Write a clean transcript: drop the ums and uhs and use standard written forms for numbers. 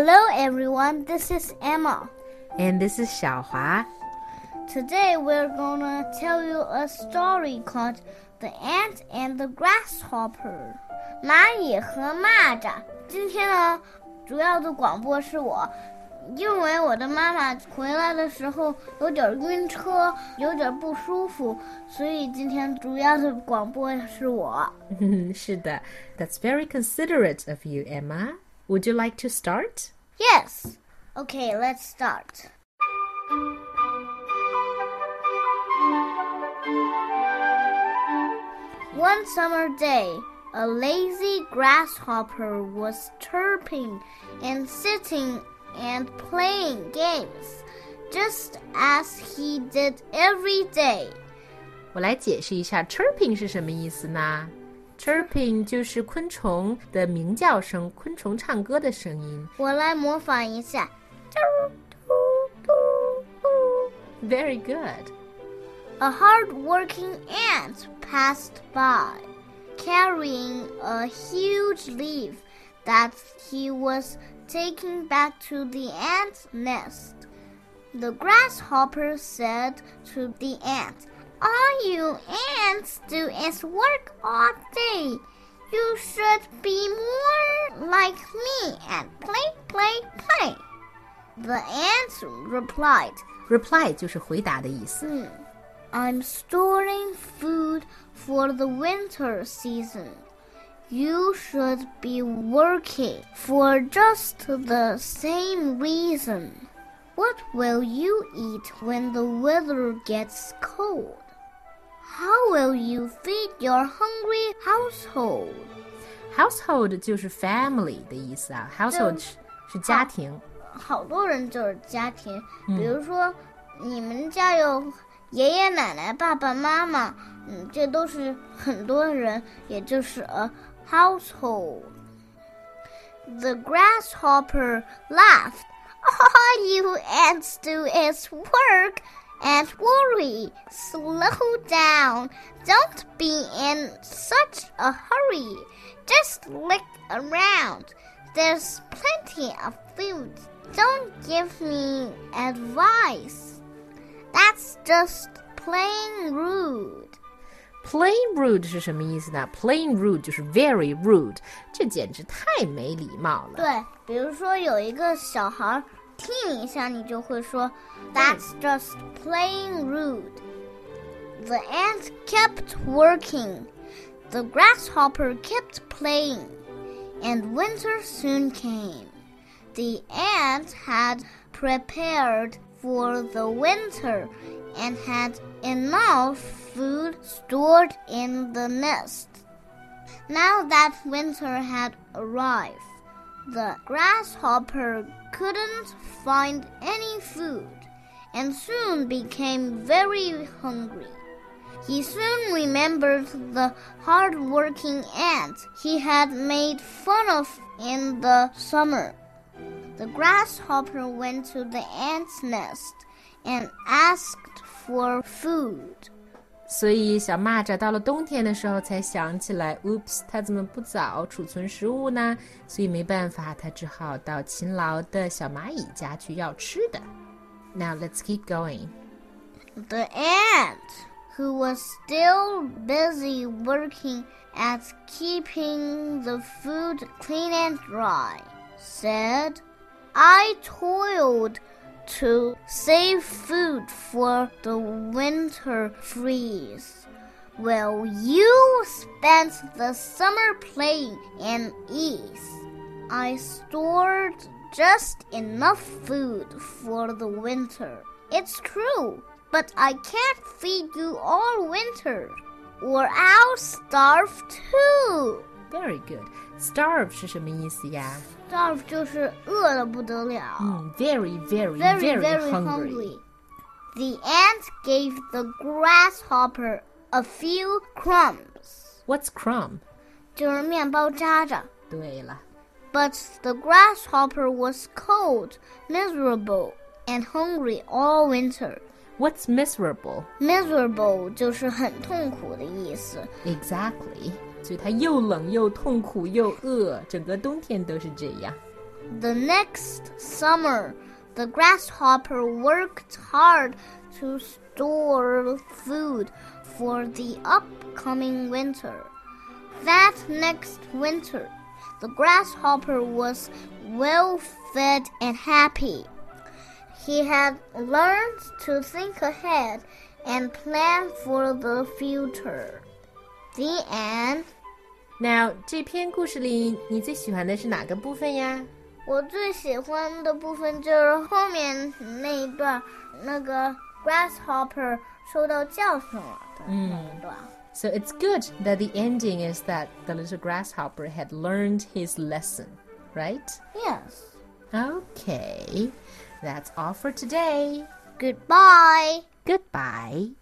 Hello everyone, this is Emma. And this is 小华. Today we're gonna tell you a story called The Ant and the Grasshopper. 蚂蚁和蚂蚱。今天呢，主要的广播是我，因为我的妈妈回来的时候有点晕车，有点不舒服，所以今天主要的广播是我。 是的 That's very considerate of you, Emma. Would you like to start? Yes. Okay, let's start. One summer day, a lazy grasshopper was chirping and sitting and playing games, just as he did every day. 我来解释一下 chirping 是什么意思呢？ Chirping 就是昆虫的鸣叫声，昆虫唱歌的声音。 我来模仿一下。 Very good. A hard-working ant passed by, carrying a huge leaf that he was taking back to the ant's nest. The grasshopper said to the ant, "All you ants do is work all day. You should be more like me and play. The ant replied, Reply 就是回答的意思。 I'm storing food for the winter season. You should be working for just the same reason. What will you eat when the weather gets cold? How will you feed your hungry household? Household 就是 family 的意思啊 Household 是家庭。 好多人就是家庭，比如说你们家有爷爷奶奶、爸爸妈妈，这都是很多人，也就是 a household. The grasshopper laughed. All you ants do is work and worry. Slow down. Don't be in such a hurry. Just look around. There's plenty of food. Don't give me advice. That's just plain rude. Plain rude 是什么意思呢？ Plain rude 就是 very rude， 这简直太没礼貌了。 对，比如说有一个小孩踢你一下，你就会说 That's just plain rude. The ant kept working. The grasshopper kept playing. And winter soon came. The ant had prepared for the winter and had enough food stored in the nest. Now that winter had arrived, the grasshopper couldn't find any food and soon became very hungry. He soon remembered the hard-working ant he had made fun of in the summer. The grasshopper went to the ant's nest and asked for food. 所以小蚂蚱到了冬天的时候才想起来 Oops, 它怎么不早储存食物呢？所以没办法，它只好到勤劳的小蚂蚁家去要吃的。Now let's keep going. The ant, who was still busy working at keeping the food clean and dry, said, I toiled to save food for the winter freeze. Well, you spent the summer playing in ease. I stored just enough food for the winter. It's true, but I can't feed you all winter, or I'll starve too. Very good. Starve 是什么意思呀？ Starve 就是饿得不得了。 Very hungry. The ant gave the grasshopper a few crumbs. What's crumb? 就是面包渣渣。 对了。 But the grasshopper was cold, miserable, and hungry all winter. What's miserable? Miserable 就是很痛苦的意思。 Exactly. 所以它又冷又痛苦又饿，整个冬天都是这样。 The next summer, the grasshopper worked hard to store food for the upcoming winter. That next winter, the grasshopper was well fed and happy. He had learned to think ahead and plan for the future. The end. Now, 这篇故事里你最喜欢的是哪个部分呀？ 我最喜欢的部分就是后面那一段，那个 grasshopper 受到教训了的那一段。 So it's good that the ending is that the little grasshopper had learned his lesson, right? Yes. Okay, that's all for today. Goodbye. Goodbye.